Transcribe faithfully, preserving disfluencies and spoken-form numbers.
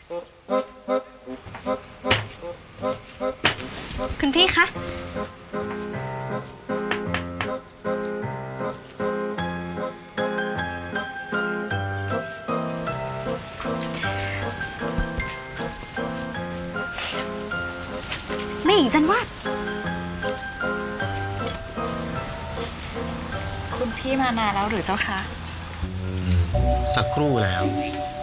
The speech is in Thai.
คุณพี่คะแม่หญิงจันวาดคุณพี่มานานแล้วหรือเจ้าคะสักครู่แล้ว